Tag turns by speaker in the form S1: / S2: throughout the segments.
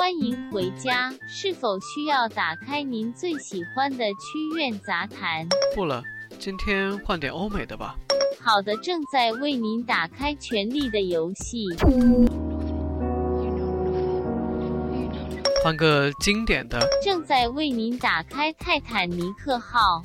S1: 欢迎回家，是否需要打开您最喜欢的曲苑杂谈？
S2: 不了，今天换点欧美的吧。
S1: 好的，正在为您打开《权力的游戏》。
S2: 换个经典的。
S1: 正在为您打开《泰坦尼克号》。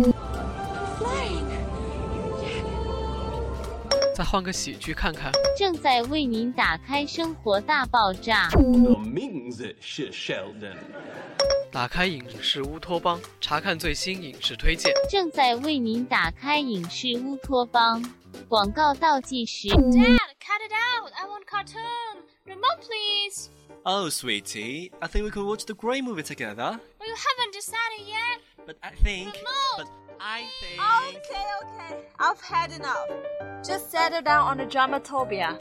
S2: 再换个喜剧看看。
S1: 正在为您打开《生活大爆炸》。
S3: 我名字是 Sheldon。
S2: 打开影视乌托邦，查看最新影视推荐。
S1: 正在为您打开影视乌托邦。广告倒计时。
S4: Dad, cut it out! I want cartoon. Remote, please.
S5: Oh, sweetie, I think we could watch the Grey movie together.
S4: Well, you haven't decided yet.
S5: But I think.
S4: Remote.
S6: Okay. I've had enough. Just settle down on the Dramatopia.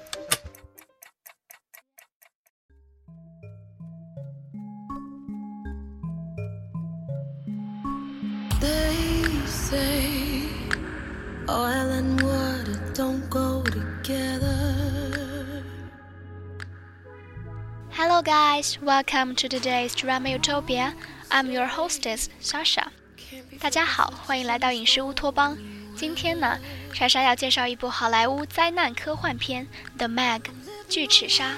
S7: They say oil and water don't go together.
S8: Hello guys, welcome to today's Drama Utopia. I'm your hostess, Sasha. 大家好，欢迎来到影视乌托邦。今天呢，莎莎要介绍一部好莱坞灾难科幻片《The Meg》巨齿鲨。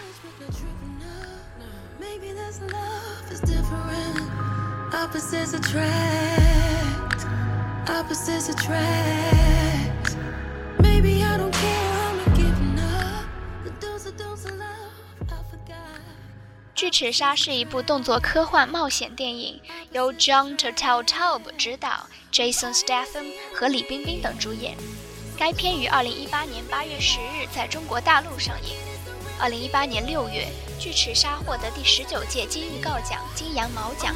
S7: Opposites attract. Opposites attract. Maybe I don't care, I'm not giving up. The dose of love, I forgot.
S8: 巨齿鲨是一部动作科幻冒险电影，由 John Turteltaub 执导， Jason Statham 和李冰冰等主演。该片于2018年8月10日在中国大陆上映。2018年6月，巨齿鲨获得第19届金预告奖、金羊毛奖。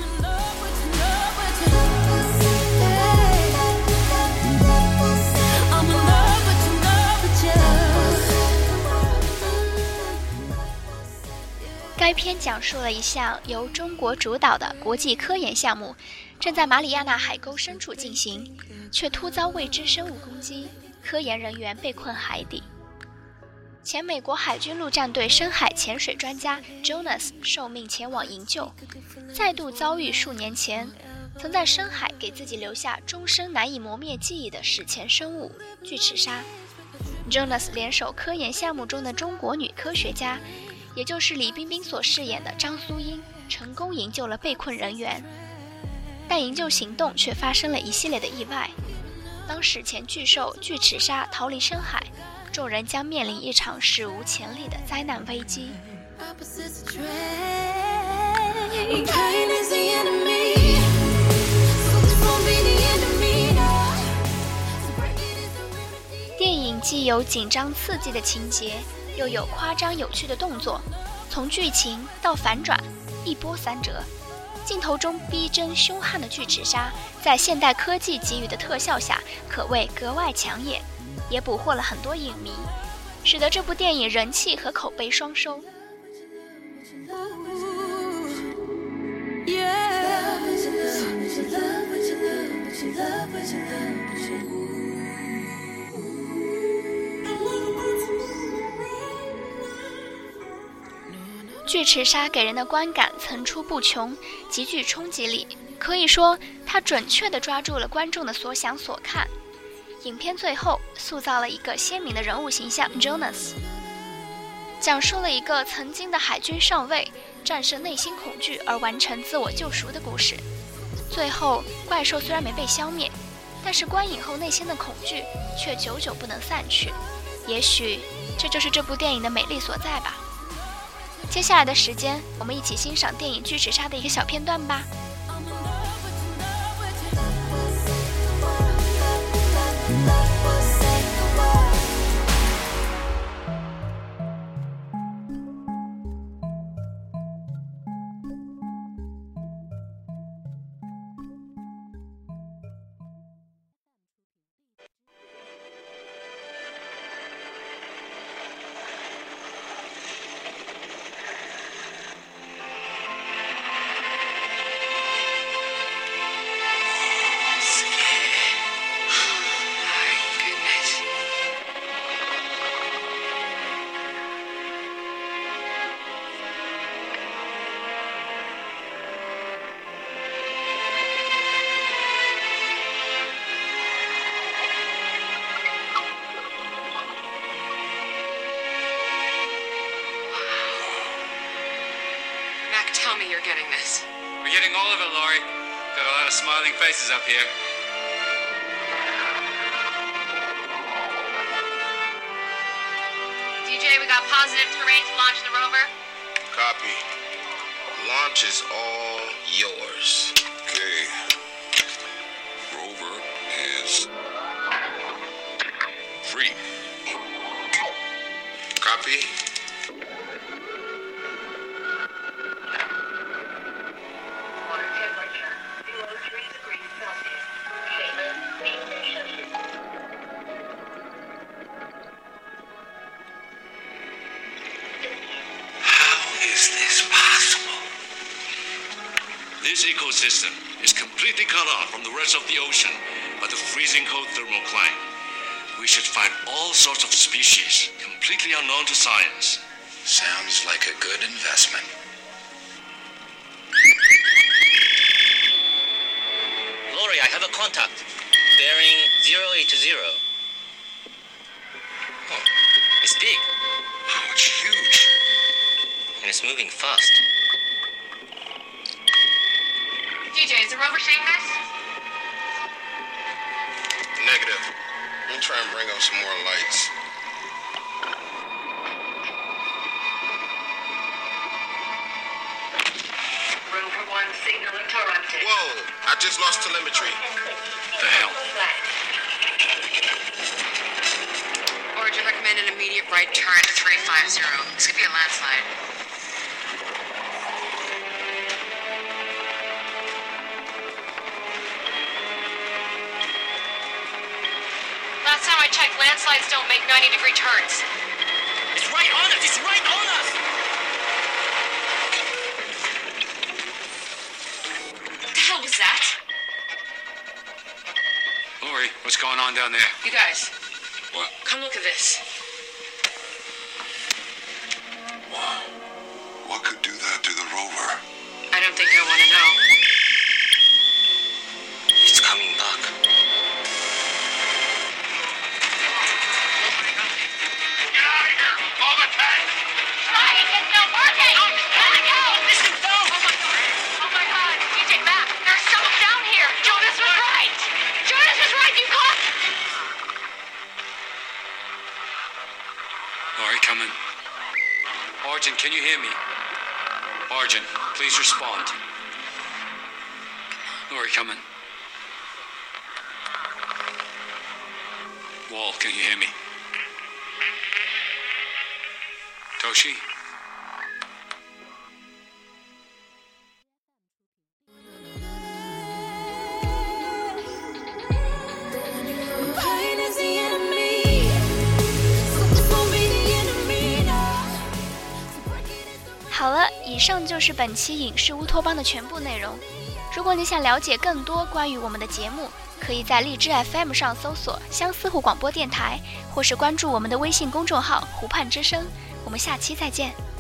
S8: 该片讲述了一项由中国主导的国际科研项目，正在马里亚纳海沟深处进行，却突遭未知生物攻击，科研人员被困海底。前美国海军陆战队深海潜水专家 Jonas 受命前往营救，再度遭遇数年前曾在深海给自己留下终生难以磨灭记忆的史前生物巨齿鲨。Jonas 联手科研项目中的中国女科学家，也就是李冰冰所饰演的张苏英，成功营救了被困人员，但营救行动却发生了一系列的意外。当史前巨兽巨齿鲨逃离深海，众人将面临一场史无前例的灾难危机。电影既有紧张刺激的情节，又有夸张有趣的动作，从剧情到反转，一波三折。镜头中逼真凶悍的巨齿鲨，在现代科技给予的特效下，可谓格外抢眼，也捕获了很多影迷，使得这部电影人气和口碑双收。巨齿鲨给人的观感层出不穷，极具冲击力，可以说它准确地抓住了观众的所想所看。影片最后塑造了一个鲜明的人物形象 Jonas， 讲述了一个曾经的海军上尉战胜内心恐惧而完成自我救赎的故事。最后怪兽虽然没被消灭，但是观影后内心的恐惧却久久不能散去，也许这就是这部电影的美丽所在吧。接下来的时间，我们一起欣赏电影《巨齿鲨》的一个小片段吧。
S9: you're getting this.
S10: We're getting all of it, Laurie. Got a lot of smiling faces up here.
S9: DJ, we got positive terrain to launch the rover.
S11: Copy. Launch is all yours.
S12: Okay. Rover is free.
S11: Copy.
S13: Water temperature 203 degrees Celsius. Shaver, station.
S12: Is this possible?
S14: This ecosystem is completely cut off from the rest of the ocean by the freezing cold thermocline. We should find all sorts of species completely unknown to science.
S12: Sounds like a good investment.
S15: Laurie, I have a contact. Bearing 080. Oh, it's big.
S12: Oh, it's huge.
S15: And it's moving fast.
S9: DJ, is the rover seeing this?
S11: Negative. Let me try and bring up some more lights.
S13: Rover 1 signal interrupted.
S11: Whoa! I just lost telemetry.
S14: The hell?
S9: Origin recommend an immediate right turn to 350. This could be a landslide. Last time I checked, landslides don't make 90-degree turns.
S15: It's right on us! It's right on us!
S9: What the hell was that?
S10: Laurie, what's going on down there?
S9: You guys.
S12: What?
S9: Come look at this.
S12: Wow. What could do that to the rover?
S9: I don't think you'll want to know.
S15: It's coming back.
S9: It's not working! Let it go! Listen, don't! Oh my god! DJ, back! There's someone down here! Jonas was right! Jonas was right! You caught...
S10: Laurie, come in. Origin, can you hear me? Origin, please respond. Laurie, come in. Wall, can you hear me? Toshi?
S7: Pain is the enemy. Focus won't be the enemy now.
S8: 好了，以上就是本期影视乌托邦的全部内容。如果你想了解更多关于我们的节目，可以在荔枝 FM 上搜索相思湖广播电台，或是关注我们的微信公众号湖畔之声。我们下期再见。